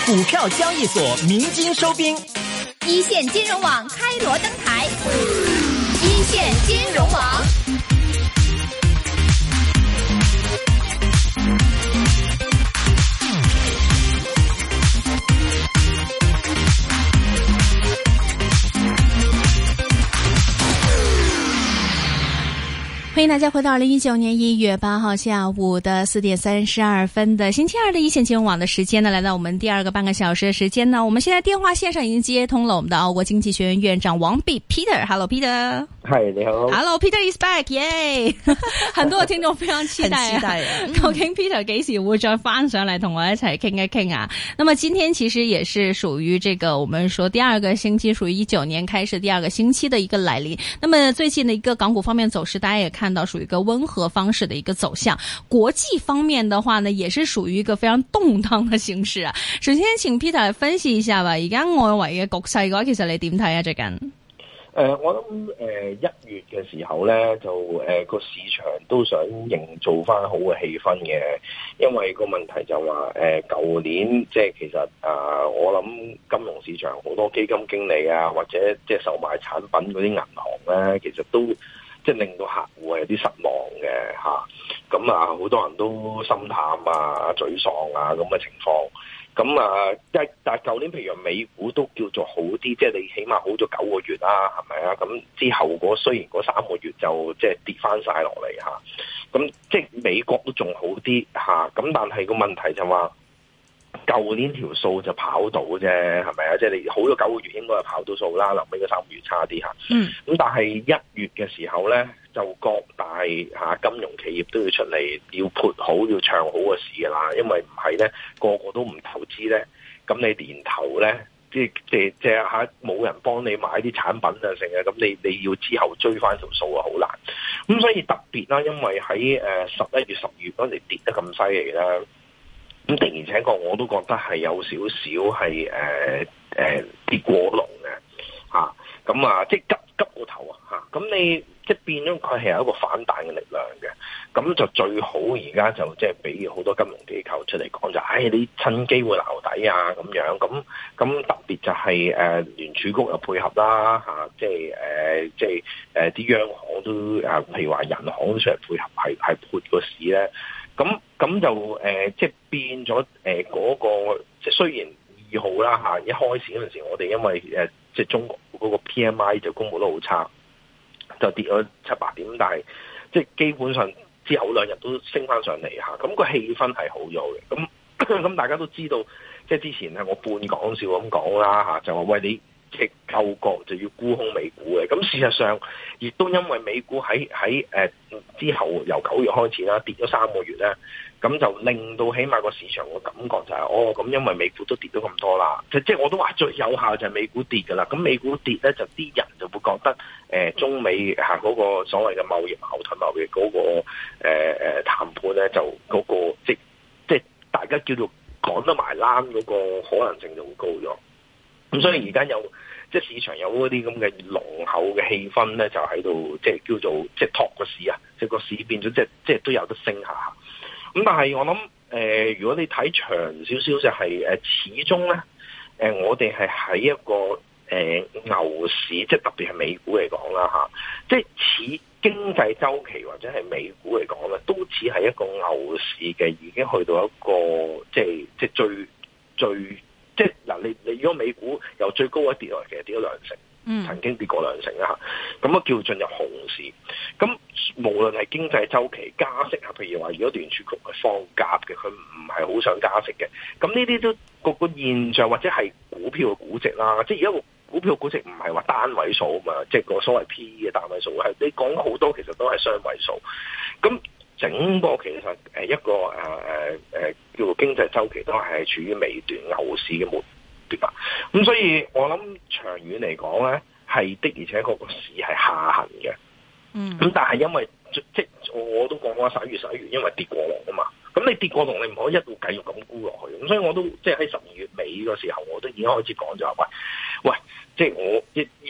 股票交易所鸣金收兵， 一线金融网开锣登台，一线金融网。 欢迎大家回到2019年1月8號下午的4點32分的星期二的一線金融網的時間呢，來到我們第二個半個小時的時間呢，我們現在電話線上已經接通了我們的澳國經濟學院院長王弼 Peter。Hello Peter。 係你好。 Hello Peter is back， 耶！很多嘅聽眾非常期待啊，究竟 Peter 幾時會再翻上嚟同我一齊傾一傾啊？那麼今天其實也是屬於這個我們說第二個星期，屬於19年開始第二個星期的一個來臨。那麼最近的一個港股方面走勢，大家也看到屬於一個溫和方式的一個走向。國際方面的話呢，也是屬於一個非常動盪的形勢啊。首先請 Peter 來分析一下吧。而家外圍嘅局勢嘅話，其實你點睇啊？最近？ 我諗1月嘅時候咧，就個市場都想營造翻好嘅氣氛嘅，因為個問題就話舊年即係其實我諗金融市場好多基金經理啊，或者即係售賣產品嗰啲銀行咧，其實都即係令到客戶係有啲失望嘅嚇，咁好多人都心淡啊、沮喪啊咁嘅情況。咁但係舊年譬如美股都叫做好啲，即係你起碼好咗9個月啦，係咪啊？咁之後雖然嗰3個月就即係跌翻晒落嚟嚇，咁即係美國都仲好啲嚇，咁但係個問題就話舊年條數就跑到啫，係咪啊？即係你好咗9個月應該係跑到數啦，臨尾嗰3個月差啲嚇。咁但係1月嘅時候咧，就各大金融企業都要出嚟要潑好要唱好嘅事㗎啦，因為唔係咧個個都唔投資咧，咁你年頭咧即係冇人幫你買啲產品啊成啊，咁你要之後追翻條數啊好難。咁所以特別啦，因為喺11月10月嗰陣跌得咁犀利啦，咁突然且確我都覺得係有少少係跌過龍嘅嚇，咁即係急過頭啊嚇，咁你即係變咗佢係有一個反彈嘅力量嘅，咁就最好而家就即係俾好多金融機構出嚟講就，你趁機會撈底啊咁樣，咁特別就係聯儲局又配合啦嚇，即係啲央行都譬如話銀行都出嚟配合係潑個市咧，咁就即係變咗嗰個即係雖然2號啦嚇，一開始嗰陣時我哋因為即係中國嗰個 PMI 就公佈得好差。就跌咗7-8點，但係即係基本上之後2日都升翻上嚟嚇，咁個氣氛係好咗嘅。咁大家都知道，即係之前係我半講笑咁講啦嚇，就話喂你即係救國就要沽空美股嘅。咁事實上亦都因為美股喺之後由9月開始啦，跌咗3個月咧，咁就令到起碼個市場個感覺就係咁因為美股都跌咗咁多啦，即係我都話最有效就係美股跌㗎啦。咁美股跌咧，就啲人就會覺得中美嗰個所謂嘅貿易矛盾、貿易嗰個談判咧，就嗰個即係大家叫做講得埋欄嗰個可能性就會高咗。咁所以而家即係市場有嗰啲咁嘅濃厚嘅氣氛咧，就喺度即係叫做即係托個市啊，即係個市變咗即係都有得升下。咁但係我諗如果你睇長少少就係始終咧我哋係喺一個牛市，即係特別係美股嚟講啦嚇，即係似經濟周期或者係美股嚟講咧，都似係一個牛市嘅，已經去到一個即係最即係嗱，你如果美股由最高一跌落嚟，其實跌咗2成，曾經跌過2成啦嚇，咁啊叫進入熊市。咁無論係經濟周期加息啊，譬如話如果聯儲局係放鴿嘅，佢唔係好想加息嘅，咁呢啲都個現象或者係股票嘅估值啦，即係而家個股票估值唔係話單位數啊嘛，即係個所謂 PE 嘅單位數，係你講好多其實都係雙位數。咁整個其實一個叫做經濟周期都係處於尾段牛市嘅末段，咁所以我諗長遠嚟講咧，係的而且確個市係下行嘅。咁但係因為即係我都講過11月，因為跌過龍啊嘛。咁你跌過龍，你唔可以一路繼續咁沽落去。咁所以我都即係喺12月尾嘅時候，我都已經開始講咗話，喂，即係我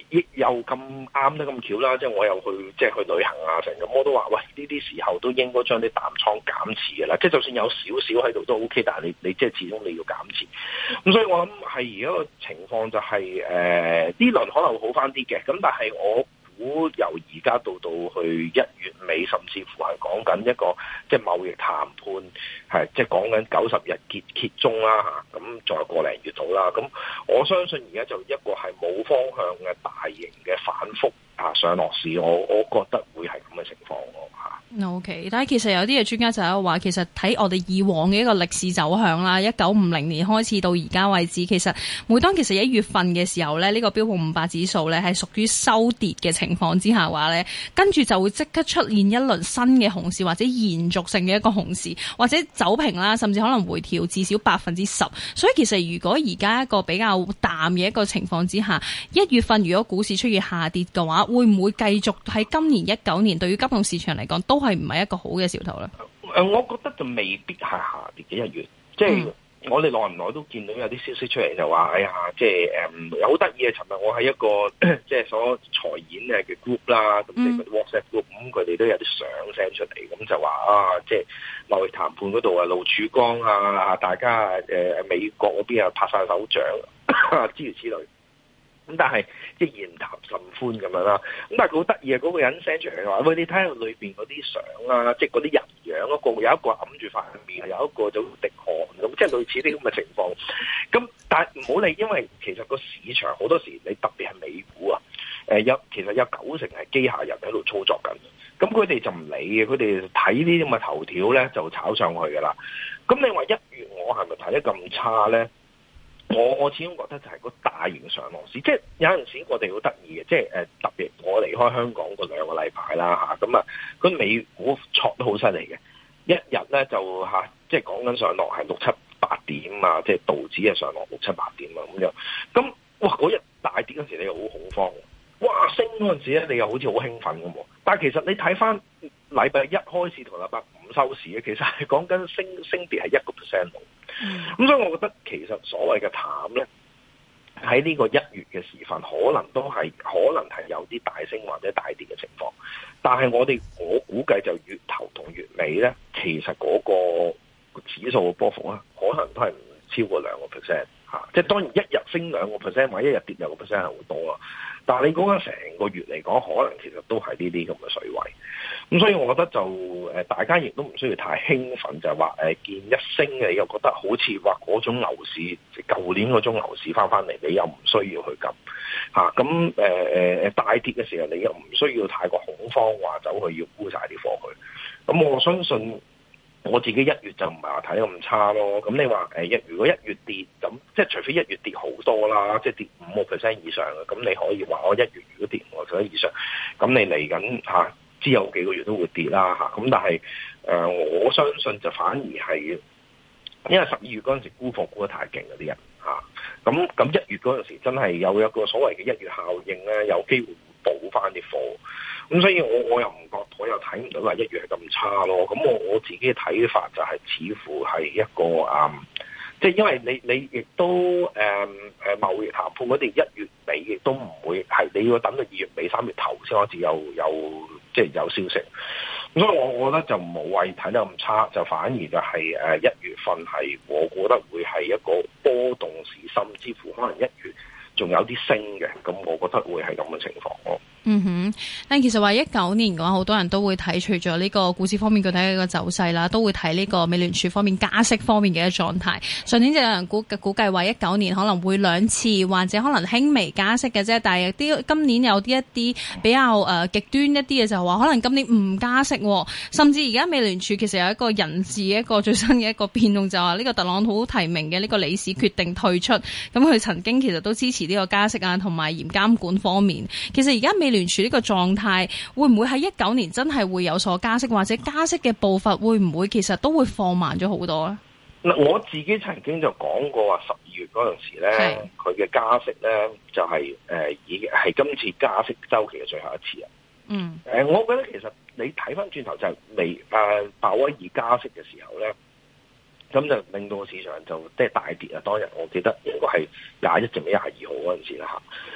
亦又咁啱得咁巧啦，即係我又去去旅行啊成咁，我都話喂，呢啲時候都應該將啲淡倉減持嘅啦，即係就算有少少喺度都 OK， 但係你即係始終你要減持。咁所以我諗係而家個情況就係呢輪可能會好翻啲嘅，咁但係我估由而家到去1月尾，甚至乎係講緊一個即係貿易談判，係即係講緊90日揭盅啦嚇，咁仲有個零月到啦，咁我相信而家就一個係冇方向嘅大型嘅反覆上落市，我覺得會係咁嘅情況咯嚇。 OK， 但係其實有啲嘅專家就係話，其實睇我哋以往嘅一個歷史走向啦，1950年開始到而家為止，其實每當其實1月份嘅時候咧，呢個標普500指數咧係屬於收跌嘅情況之下話咧，跟住就會即刻出現一輪新嘅熊市或者延續性嘅一個熊市，或者走平啦，甚至可能回調至少10%。所以其實如果而家一個比較淡嘅一個情況之下，1月份如果股市出現下跌嘅話，會唔會繼續喺今年19年對於金融市場嚟講都係唔係一個好嘅兆頭咧？ 我覺得就未必係下跌嘅1月，即係我哋耐唔耐都見到有啲消息出嚟就話，哎呀，即係有好得意嘅。尋日我喺一個即係所財演嘅 group 啦，咁即係嗰啲 WhatsApp group，咁佢哋都有啲相 send 出嚟，咁就話即係貿易談判嗰度啊，露曙光啊，大家美國嗰邊啊拍晒手掌，諸如此類。咁但係即係言談甚歡咁樣啦，咁但係佢好得意啊！嗰個人 send 出嚟話，喂，你睇下裏邊嗰啲相啊，即係嗰啲人樣嗰個，有一個揞住塊面，有一個就滴汗咁，即係類似啲咁嘅情況。咁但係唔好理，因為其實個市場好多時你特別係美股啊，其實有90%係機械人喺度操作緊，咁佢哋就唔理嘅，佢哋睇呢啲咁嘅頭條咧就炒上去噶啦。咁你話1月我係咪睇得咁差咧？我始終覺得就係個大型上落市，即係有陣時我哋好得意嘅，即係特別我離開香港嗰2個禮拜啦嚇，咁佢美股挫得好犀利嘅，一日咧就即係講緊上落係6、7、8點啊，即係道指係上落6、7、8點啊咁樣，咁哇嗰日大跌嗰陣時你又好恐慌，哇升嗰陣時咧你又好似好興奮咁喎，但係其實你睇翻禮拜1開市同禮拜5收市咧，其實係講緊升跌係1%度。咁所以我覺得其實所謂嘅淡咧，喺呢個1月嘅時分，可能係有啲大升或者大跌嘅情況。但係我估計就月頭同月尾咧，其實嗰個指數嘅波幅咧，可能都係唔超過2%嚇。即係當然一日升2%或者一日跌2%係好多啊。但係你講緊成個月嚟講，可能其實都係呢啲咁嘅水位。咁所以我覺得就大家亦都唔需要太興奮，就係話見一升嘅，你又覺得好似話嗰種牛市，舊年嗰種牛市翻嚟，你又唔需要去撳嚇。咁大跌嘅時候，你又唔需要太過恐慌，話走去要沽晒啲貨去。咁我相信我自己1月就唔係話睇得咁差咯。咁你話如果1月跌，咁即係除非1月跌好多啦，即係跌5% 以上嘅，咁你可以話我1月如果跌5% 以上，咁你嚟緊之後幾個月都會跌啦嚇。咁但係我相信就反而係因為12月嗰陣時沽貨沽得太勁嗰啲人嚇，咁1月嗰陣時真係有一個所謂嘅1月效應咧，有機會補翻啲貨。咁所以我又唔覺，我又睇唔到話1月係咁差咯。咁我自己嘅睇法就係似乎係一個即係因為你亦都貿易談判嗰啲1月尾亦都唔會係，你要等到2月尾3月頭先開始有即係有消息。咁所以我覺得就冇謂睇得咁差，就反而就係1月份係我覺得會係一個波動市，甚至乎可能1月仲有啲升嘅。咁我覺得會係咁嘅情況咯。 嗯哼，但其實話19年嘅話，好多人都會睇除咗呢個股市方面具體嘅一個走勢啦，都會睇呢個美聯儲方面加息方面嘅一個狀態。上年就有人估計話19年可能會2次或者可能輕微加息嘅啫，但係今年有啲一啲比較極端一啲嘅就係話可能今年唔加息，甚至而家美聯儲其實有一個人事一個最新嘅一個變動，就話呢個特朗普提名嘅呢個理事決定退出，咁佢曾經其實都支持呢個加息啊同埋嚴監管方面。其實而家美聯儲呢個狀態會唔會喺19年真係會有所加息，或者加息嘅步伐會唔會其實都會放慢咗好多咧？ 嗱，我自己曾經就講過話12月嗰陣時咧，佢嘅加息咧就係已經係今次加息週期嘅最後一次啊。我覺得其實你睇翻轉頭就係鮑威爾加息嘅時候咧，咁就令到個市場就即係大跌啊！當日我記得應該係21定22號嗰陣時啦嚇。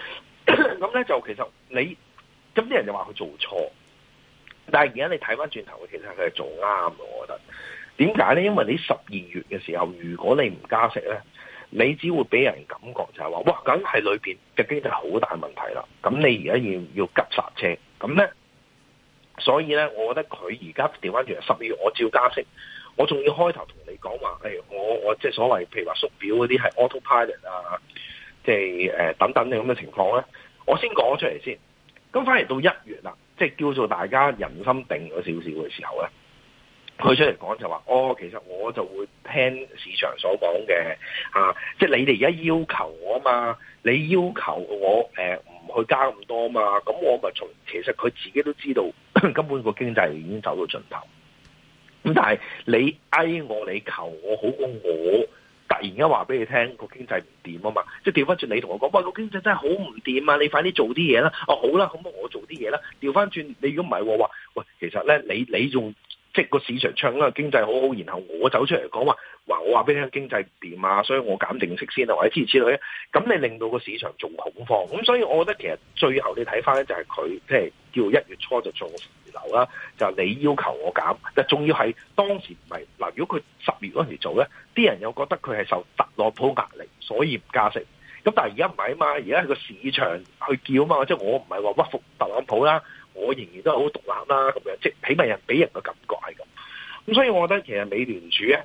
咁咧就其實你咁啲人就話佢做錯，但係而家你睇翻轉頭，其實佢係做啱嘅，我覺得。點解咧？因為你12月嘅時候，如果你唔加息咧，你只會俾人感覺就係話，哇，梗係裏邊嘅經濟好大問題啦。咁你而家要急剎車，咁咧，所以咧，我覺得佢而家調翻轉12月，我照加息，我仲要開頭同你講話，我即係所謂譬如話縮表嗰啲係 autopilot 啊，即係等等嘅咁嘅情況咧，我先講咗出嚟先。咁反而到1月啦，即係叫做大家人心定咗少少嘅時候咧。佢出嚟講就話，其實我就會聽市場所講嘅，即係你哋而家要求我啊嘛，你要求我唔去加咁多嘛，咁我咪其實佢自己都知道根本個經濟已經走到盡頭。咁但係你我你求我好過我突然間話俾你聽個經濟唔掂啊嘛，即係調翻轉你同我講，喂，個經濟真係好唔掂啊，你快啲做啲嘢啦。好啦，咁我做啲嘢啦。調翻轉你如果唔係話，喂，其實咧你仲即係個市場唱啦，經濟好好，然後我走出嚟講話我話俾你聽經濟唔掂啊，所以我減定息先啊，或者諸如此類咧，咁你令到個市場仲恐慌，咁所以我覺得其實最後你睇翻咧就係佢即係叫1月初就做回流啦，就係你要求我減，但仲要係當時唔係嗱，如果佢10月嗰陣時做咧，啲人又覺得佢係受特朗普壓力，所以唔加息。咁但係而家唔係啊嘛，而家係個市場去叫啊嘛，即係我唔係話屈服特朗普啦。我仍然都係好獨立啦，咁樣即係起碼人俾人嘅感覺係咁。咁所以我覺得其實美聯儲咧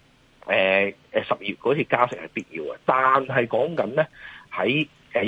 ，12月嗰次加息係必要嘅，但係講緊咧喺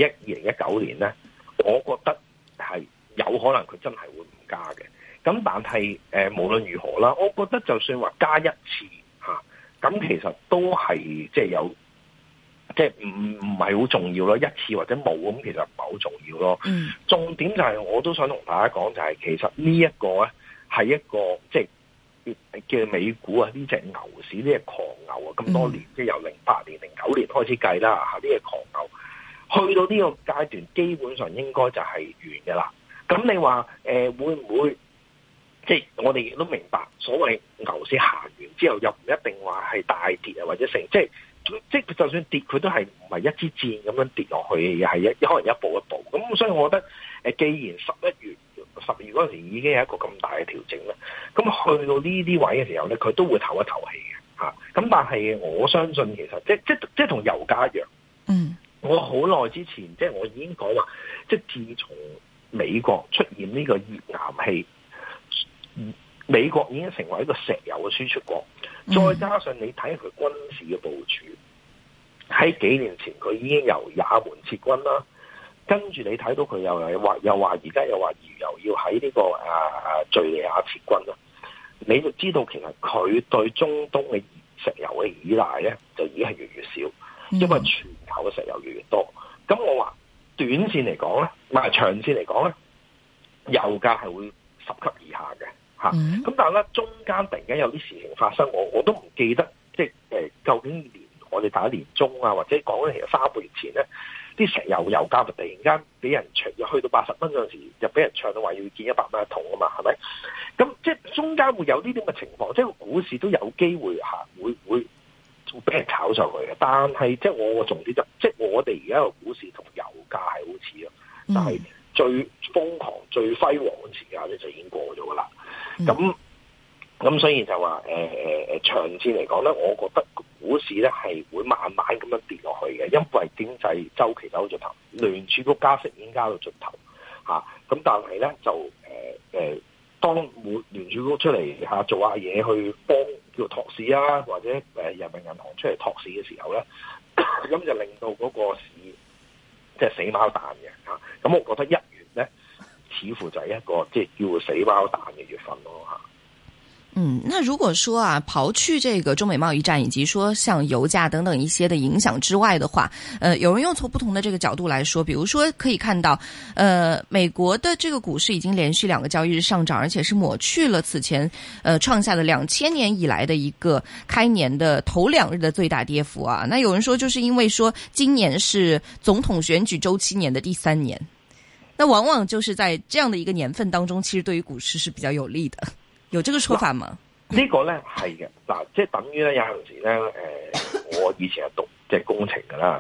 2019年咧，我覺得係有可能佢真係會唔加嘅。咁但係無論如何啦，我覺得就算話加一次嚇，咁其實都係即係有。即係唔係好重要咯，一次或者冇咁，其實唔係好重要咯。重點就係我都想同大家講，就係其實呢一個咧係一個即係叫美股啊，呢隻牛市呢隻狂牛啊，咁多年即係由08年、09年開始計啦，呢隻狂牛去到呢個階段，基本上應該就係完嘅啦。咁你話會唔會即係我哋亦都明白，所謂牛市行完之後，又唔一定話係大跌啊，或者成即係就算跌，佢都係唔係一支箭咁樣跌落去嘅，係可能一步一步。咁所以我覺得既然11月、12月嗰陣時已經有一個咁大嘅調整咧，咁去到呢啲位嘅時候咧，佢都會唞一唞氣嘅嚇。咁但係我相信其實即係同油價一樣。我好耐之前即係我已經講話，即係自從美國出現呢個頁岩氣。美國已經成為一個石油嘅輸出國，再加上你睇佢軍事嘅部署，喺幾年前佢已經由也門撤軍啦，跟住你睇到佢又話而家又話又要喺呢個敘利亞撤軍啦，你就知道其實佢對中東嘅石油嘅依賴咧就已經係越嚟越少，因為全球嘅石油越嚟越多。咁我話短線嚟講咧，唔係長線嚟講咧，油價係會10級以下嘅。咁但係咧，中間突然間有啲事情發生，我都唔記得，即係究竟我哋打年中啊，或者講緊其實3個月前咧，啲石油價突然間俾人去到80蚊嗰陣時，就俾人唱到話要見100蚊一桶啊嘛，係咪？咁即係中間會有呢啲咁嘅情況，即係個股市都有機會會俾人炒上去嘅。但係即係我個重點即係我哋而家個股市同油價係好似咯，但係最瘋狂、最輝煌嘅時間咧就已經過咗噶啦。咁所以就話長線嚟講咧，我覺得股市咧係會慢慢咁樣跌落去嘅，因為經濟周期走到盡頭，聯儲局加息已經加到盡頭嚇。咁但係咧就當聯儲局出嚟做下嘢去幫叫托市啊，或者人民銀行出嚟托市嘅時候咧，咁就令到嗰個市即係死貓彈嘅嚇。咁我覺得1月咧，似乎就係一個即係叫死貓彈嘅月份咯嚇。 那如果說啊，刨去這個中美貿易戰以及說像油價等等一些的影響之外的話，有人又從不同的這個角度來說，比如說可以看到，美國的這個股市已經連續2個交易日上漲，而且是抹去了此前創下的2000年以來的一個開年的頭2日的最大跌幅啊。那有人說就是因為說今年是總統選舉週期年的第3年，那往往就是在這樣的一個年份當中，其實對於股市是比較有利的。有這個說法嗎？ 呢個咧係嘅，嗱，即係等於咧有陣時咧，我以前係讀即係工程噶啦，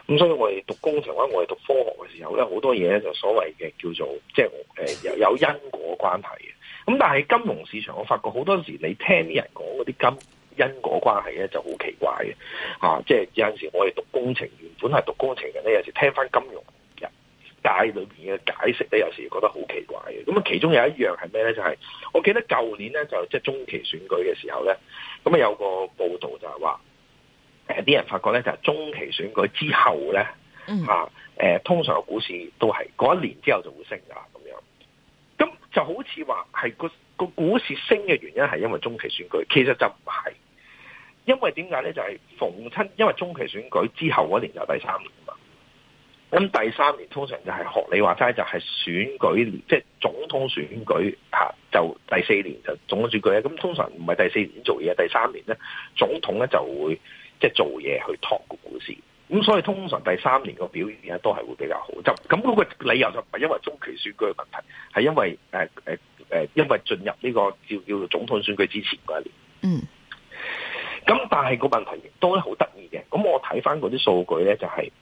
咁所以我哋讀工程或者我哋讀科學嘅時候咧，好多嘢咧就所謂嘅叫做即係有因果關係嘅。咁但係金融市場，我發覺好多時你聽啲人講嗰啲因果關係咧就好奇怪嘅，即係有陣時我哋讀工程，原本係讀工程嘅咧，有時聽翻金融人界裏邊嘅解釋咧，有時覺得好奇怪嘅。咁啊，其中有一樣係咩咧？就係我記得舊年咧，就即係中期選舉嘅時候咧，咁啊有個報道就係話，啲人發覺咧就係中期選舉之後咧，通常個股市都係嗰一年之後就會升噶啦，咁樣。咁就好似話係個股市升嘅原因係因為中期選舉，其實就唔係。因為點解咧？就係逢親，因為中期選舉之後嗰年就第三年嘛。咁第三年通常就係學你話齋，就係選舉年，即係總統選舉就第四年就總統選舉咧。咁通常唔係第四年做嘢，第三年咧總統咧就會即係做嘢去托個股市。咁所以通常第三年個表現咧都係會比較好。就咁嗰個理由就唔係因為中期選舉嘅問題，係因為因為進入呢個叫做總統選舉之前嗰一年。咁但係個問題亦都好得意嘅，咁我睇翻嗰啲數據咧，就係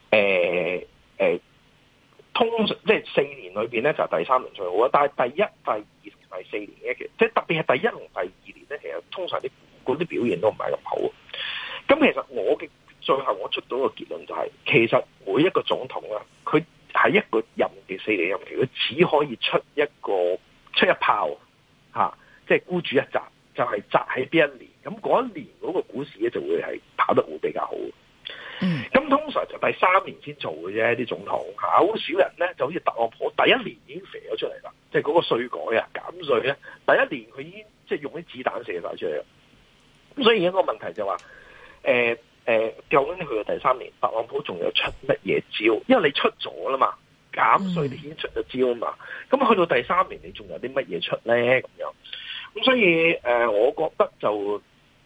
通常即係4年裏邊咧就係第三年最好啦，但係第一、第二同第四年咧，其實即係特別係第一同第二年咧，其實通常嗰啲表現都唔係咁好。咁其實我嘅最後我出到個結論就係，其實每一個總統啦，佢喺一個任期4年任期，佢只可以出一炮即係孤注一擲。就係擲喺邊一年，咁嗰一年嗰個股市咧就會係跑得會比較好。咁通常就第三年先做嘅啫，啲總統好少人咧，就好似特朗普第一年已經射咗出嚟啦，即係嗰個稅改啊減稅咧，第一年佢已經即係用啲子彈射晒出嚟啦。咁所以一個問題就話，究竟去到第三年，特朗普仲有出乜嘢招？因為你出咗啦嘛，減稅你已經出咗招啊嘛，咁去到第三年你仲有啲乜嘢出咧？咁樣。咁所以我覺得就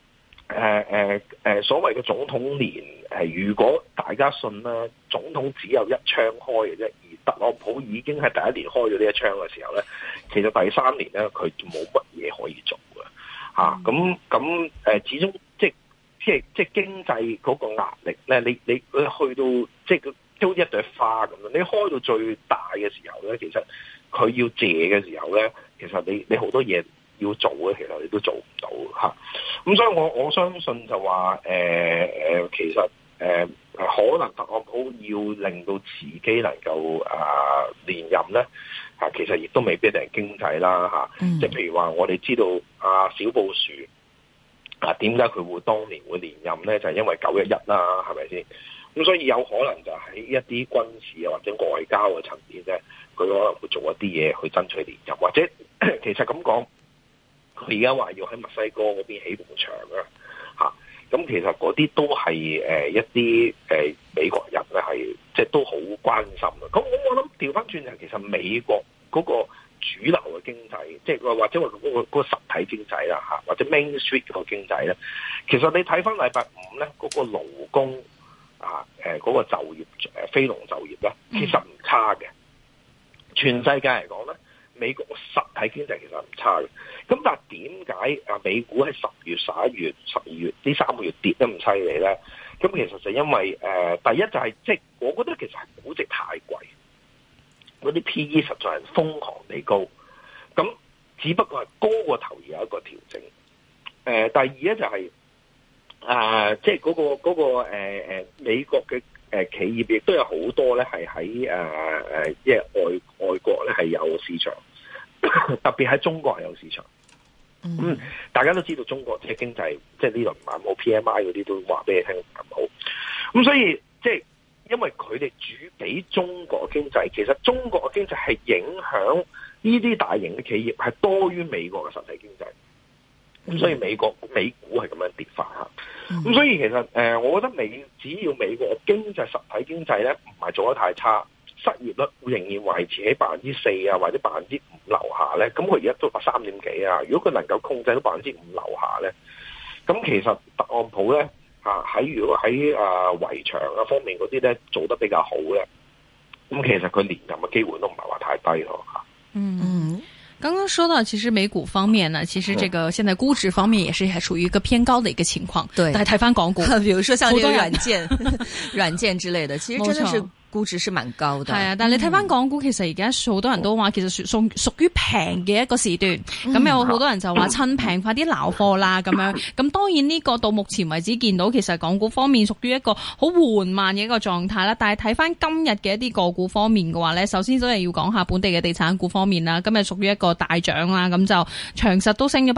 所謂嘅總統年如果大家信啦，總統只有一槍開嘅啫，而特朗普已經係第一年開咗呢一槍嘅時候咧，其實第三年咧佢冇乜嘢可以做嘅咁始終即係經濟嗰個壓力咧，你去到即係都一朵花咁樣，你開到最大嘅時候咧，其實佢要借嘅時候咧，其實你好多嘢要做嘅，其實你都做唔到嚇。咁所以我相信就話其實可能特朗普要令到自己能夠連任咧其實亦都未必係經濟啦即係譬如話我哋知道小布殊點解佢會當年會連任咧？就係因為911啦，係咪先？咁所以有可能就喺一啲軍事或者外交嘅層面咧，佢可能會做一啲嘢去爭取連任，或者其實咁講。佢而家話要喺墨西哥嗰邊起埲牆咁其實嗰啲都係一啲美國人咧係即係都好關心嘅。咁我諗調翻轉就其實美國嗰個主流嘅經濟，即係或者話嗰個實體經濟啦或者 Main Street 嗰個經濟咧，其實你睇翻禮拜五咧嗰個勞工嗰個就業非農就業咧，其實唔差嘅。全世界嚟講咧，美國實體經濟其實唔差嘅，咁但係點解美股喺10月、11月、12月呢3個月跌得咁犀利咧？咁其實就因為第一就係即係我覺得其實係估值太貴，嗰啲 PE 實在係瘋狂地高，咁只不過係高過頭而有一個調整。第二咧就係即係嗰個美國嘅企業亦都有好多咧係喺即係外國咧係有市場。特別喺中國係有市場，大家都知道中國即係經濟，即係呢輪唔係冇 PMI 嗰啲都話俾你聽唔好，咁所以即係因為佢哋主俾中國經濟，其實中國嘅經濟係影響呢啲大型嘅企業係多於美國嘅實體經濟，咁所以美股係咁樣跌法咁所以其實我覺得只要美國嘅經濟實體經濟咧唔係做得太差。失業率仍然維持喺4%或者5%樓下咧，咁佢而家都3點幾啊！如果佢能夠控制到5%樓下咧，咁其實特朗普咧如果喺圍牆方面嗰啲咧做得比較好咧，咁其實佢連任嘅機會都唔係話太低咯剛剛說到，其實美股方面呢，其實這個現在估值方面也是還屬於一個偏高的一個情況。 對， 但係睇翻港股， 比如說像這個軟件之類的，其實真的是估值是蠻高的。 係啊，但係你睇翻港股，其實而家好多人都話，其實屬於平嘅一個時段。咁有好多人就話趁平快啲撈貨啦，咁樣。咁當然呢個到目前為止見到，其實港股方面屬於一個好緩慢嘅一個狀態啦。但係睇翻今日嘅一啲個股方面嘅話咧，首先都係要講下本地嘅地產股方面啦。今日屬於一個大漲啦，咁就長實都升咗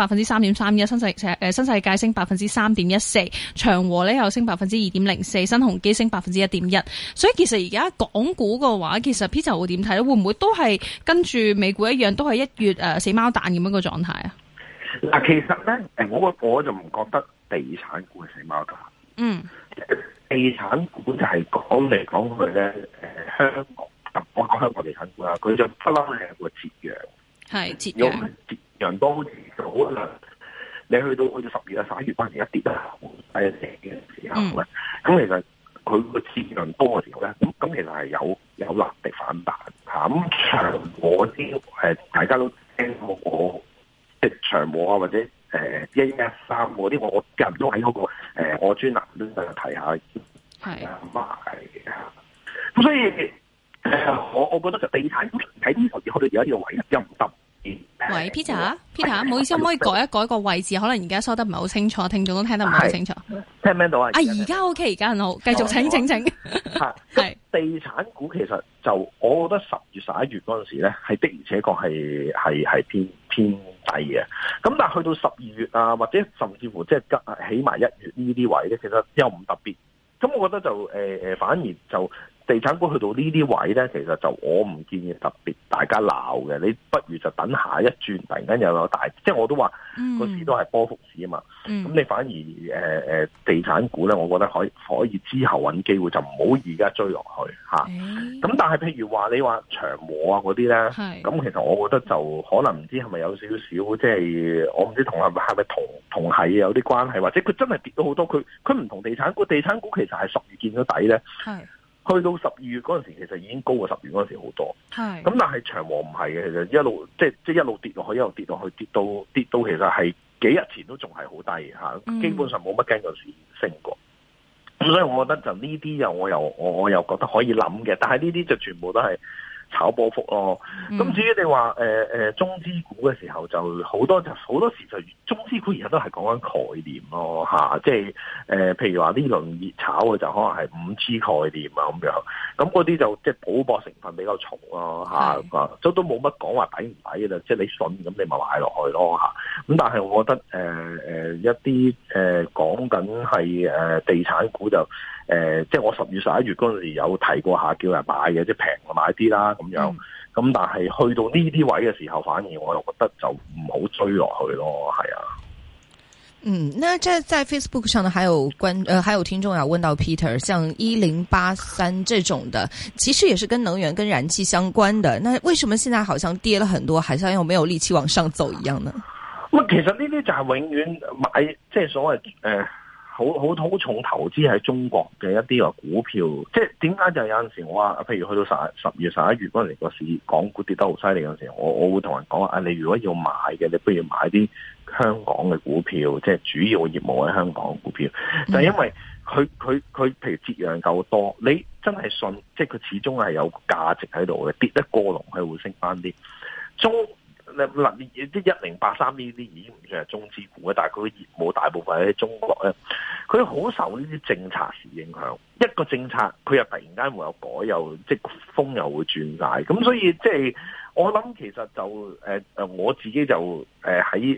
3.31%，新世界升3.14%，長和咧又升2.04%，新鴻基升1.1%。所以其實而家港股嘅話，其實 Peter 會點睇咧？會唔會都係跟住美股一樣，都係1月死貓彈咁樣個狀態啊？ 嗱，其實咧，我就唔覺得地產股係死貓彈。 嗯， 地產股就係講嚟講去咧，香港，我講香港地產股啦，佢就不嬲係個折讓， 係折讓， 折讓多好似可能你去到10月啊11月嗰陣時一跌得好低嘅時候咧，咁其實佢個折讓多嘅時候咧，咁其實係有能力反彈嚇。咁長和啲大家都聽過我即係長和啊，或者1113嗰啲，我近都喺嗰個我專欄都提下，係咁所以我覺得就地產股喺呢度去到而家呢個位又唔得。 喂 Peter，唔好意思，可唔可以改一改個位置？可能而家收得唔係好清楚，聽眾都聽得唔係好清楚。 聽唔聽到啊？ 而家 OK，而家很好，繼續請。 係地產股其實就我覺得10月11月嗰陣時咧，係的而且確係偏低嘅。咁但係去到12月啊，或者甚至乎即係起埋1月呢啲位咧，其實又唔特別。咁我覺得就反而就地產股去到呢啲位咧，其實就我唔建議特別大家鬧嘅。你不如就等下一轉，突然間又有大，即係我都話個市都係波幅市啊嘛。咁你反而地產股咧，我覺得可以之後揾機會，就唔好而家追落去嚇。咁但係譬如話你話長和啊嗰啲咧，咁其實我覺得就可能唔知係咪有少少，即係我唔知係咪同係有啲關係，或者佢真係跌到好多。佢唔同地產股，地產股其實係10月見咗底咧。去到12月嗰陣時，其實已經高過10月嗰陣時好多。咁但係長和唔係嘅，其實一路即係一路跌落去，一路跌落去，跌到其實係幾日前都仲係好低嚇，基本上冇乜跟個市升過。咁所以我覺得就呢啲我又覺得可以諗嘅，但係呢啲就全部都係炒波幅咯。咁至於你話中資股嘅時候，就好多時就中資股而家都係講緊概念咯嚇，即係譬如話呢輪熱炒嘅就可能係5G 概念啊咁樣，咁嗰啲就即係賭博成分比較重咯嚇，都冇乜講話抵唔抵嘅啦，即係你信咁你咪買落去咯嚇。咁但係我覺得一啲講緊係地產股就即係我10月11月嗰陣時有提過下叫人買嘅，即係平就買啲啦咁樣。咁但係去到呢啲位嘅時候，反而我又覺得就唔好追落去咯，係啊。 那在 Facebook 上呢，還有聽眾要問到 Peter， 像1083這種的，其實也是跟能源、跟燃氣相關的，那為什麼現在好像跌了很多，好像又沒有力氣往上走一樣呢？ 其實呢啲就係永遠買，即係所謂好重投資喺中國嘅一啲個股票，即係點解就有陣時我話，譬如去到10月11月嗰陣時個市港股跌得好犀利嗰陣時，我會同人講話，你如果要買嘅，你不如買啲香港嘅股票，即係主要業務喺香港嘅股票，就係因為佢譬如折讓夠多，你真係信，即係佢始終係有價值喺度嘅，跌得過龍佢會升翻啲。嗱，啲1083呢啲已經唔算係中資股嘅，但係佢嘅業務大部分喺中國咧，佢好受呢啲政策時影響。一個政策佢又突然間會有改，又即係風又會轉晒，咁所以即係我諗其實就我自己就喺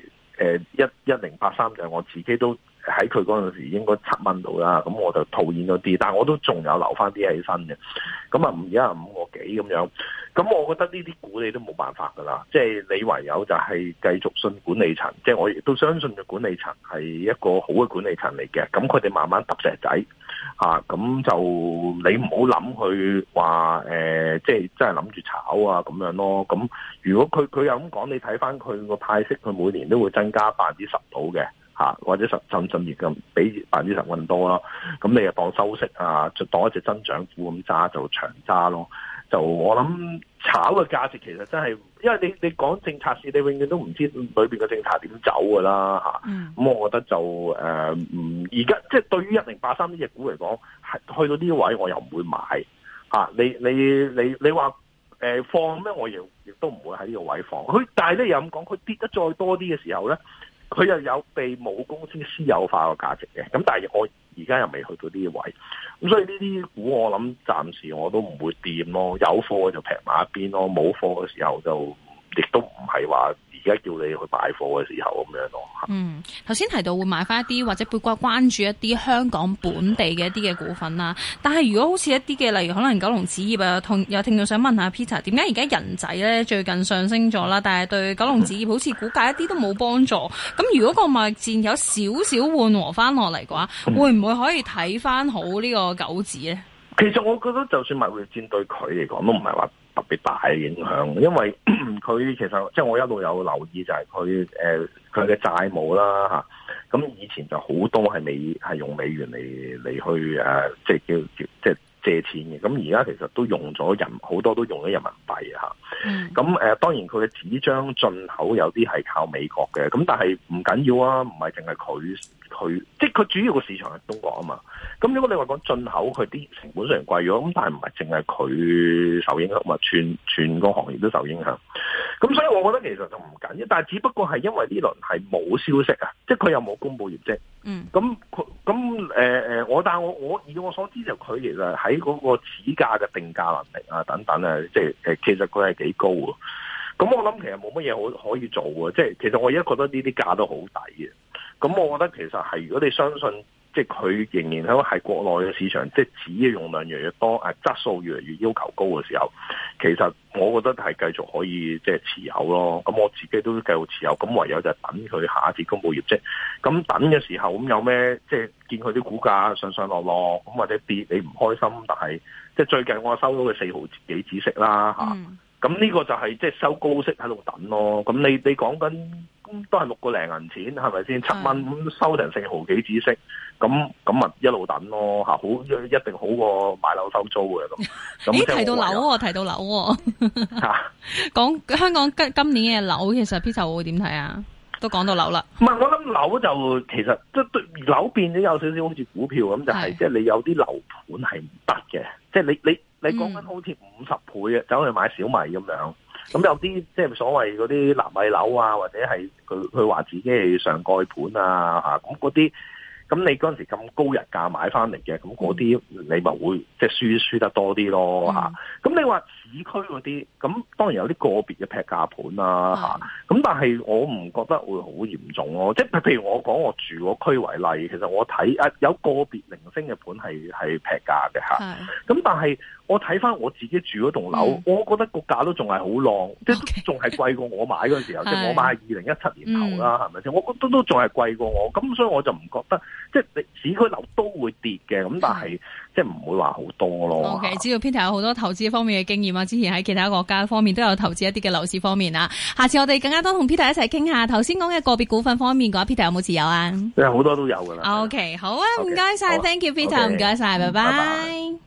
1083就係我自己都喺佢嗰陣時應該7蚊到啦，咁我就套現咗啲，但係我都仲有留翻啲起身嘅，咁啊而家5個幾咁樣。咁我覺得呢啲股你都冇辦法噶啦，即係你唯有就係繼續信管理層，即係我亦都相信嘅管理層係一個好嘅管理層嚟嘅。咁佢哋慢慢揼石仔嚇，咁就你唔好諗佢話即係真係諗住炒啊咁樣咯。咁如果佢又咁講，你睇翻佢個派息，佢每年都會增加10%到嘅嚇，或者甚至咁比10%咁多啦。咁你又當收息啊，就當一隻增長股咁揸就長揸咯。 就我諗炒嘅價值其實真係，因為你講政策市，你永遠都唔知裏邊嘅政策點走噶啦吓。咁我覺得就而家即係對於1083呢隻股嚟講，係去到呢位我又唔會買吓。你話放咩？我亦都唔會喺呢個位放。佢但係咧又咁講，佢跌得再多啲嘅時候咧，佢又有被母公司私有化嘅價值嘅。咁但係我而家又未去到呢個位，咁所以呢啲股我諗暫時我都唔會掂咯。有貨就平埋一邊咯，冇貨嘅時候就亦都唔係話而家叫你去擺貨嘅時候咁樣咯。 頭先提到會買翻一啲或者會關注一啲香港本地嘅一啲嘅股份啦。但係如果好似一啲嘅，例如可能玖龍紙業啊，有聽眾想問下 Peter， 點解而家人仔咧最近上升咗啦，但係對玖龍紙業好似股價一啲都冇幫助？咁如果個貿易戰有少少緩和翻落嚟嘅話，會唔會可以睇翻好呢個玖紙咧？ 其實我覺得就算貿易戰對佢嚟講都唔係話特別大嘅影響，因為佢其實即係我一路有留意就係佢嘅債務啦嚇，咁以前就好多係用美元嚟去即係即係借錢嘅，咁而家其實都用咗好多都用咗人民幣嚇，咁當然佢嘅紙張進口有啲係靠美國嘅，咁但係唔緊要啊，唔係淨係佢即係佢主要個市場係中國啊嘛。咁如果你話講進口，佢啲成本雖然貴咗，咁但係唔係淨係佢受影響，嘛全個行業都受影響。咁所以我覺得其實就唔緊要，但係只不過係因為呢輪係冇消息啊，即係佢又冇公布業績。我以我所知就佢其實喺嗰個指價嘅定價能力啊等等啊，即係其實佢係幾高啊。咁我諗其實冇乜嘢可以做啊，即係其實我而家覺得呢啲價都好抵嘅。咁我覺得其實係如果你相信，即係佢仍然喺國內嘅市場，即係紙嘅用量越嚟越多，質素越嚟越要求高嘅時候，其實我覺得係繼續可以即係持有咯。咁我自己都繼續持有，咁唯有就等佢下一次公布業績。咁等嘅時候，咁有咩即係見佢啲股價上上落落，咁或者跌你唔開心，但係即係最近我收到佢4毫幾止息啦嚇。咁呢個就係即係收高息喺度等咯。咁你講緊都係6個零銀錢，係咪先7蚊咁收成4毫幾止息？咁咪一路等咯嚇，一定好過買樓收租嘅咁。 咦？提到樓嚇，講香港今年嘅樓，其實 Peter 會點睇啊？都講到樓啦。 唔係，我諗樓就其實即係樓變咗有少少好似股票咁，就係即係你有啲樓盤係唔得嘅，即係你講緊好似50倍嘅走去買小米咁樣。咁有啲即係所謂嗰啲納米樓啊，或者係佢話自己係上蓋盤啊咁嗰啲。咁你嗰陣時咁高日價買翻嚟嘅，咁嗰啲你咪會即係輸得多啲咯嚇。咁你話市區嗰啲，咁當然有啲個別嘅劈價盤啦嚇。咁但係我唔覺得會好嚴重咯。即係譬如我講我住嗰區為例，其實我睇有個別零星嘅盤係劈價嘅嚇。咁但係我睇翻我自己住嗰棟樓，我覺得個價都仲係好浪，即係仲係貴過我買嗰陣時候。即係我買2017年頭啦，係咪先？我覺得都仲係貴過我，咁所以我就唔覺得。即係你市區樓都會跌嘅，咁但係即係唔會話好多咯。 OK， 知道 Peter 有好多投資方面嘅經驗啊，之前喺其他國家方面都有投資一啲嘅樓市方面啊。下次我哋更加多同 Peter 一齊傾下。頭先講嘅個別股份方面嘅話，Peter 有冇持有啊？ 好多都有噶啦。 OK， 好啊，唔該晒 ，Thank you Peter，唔該晒，拜拜。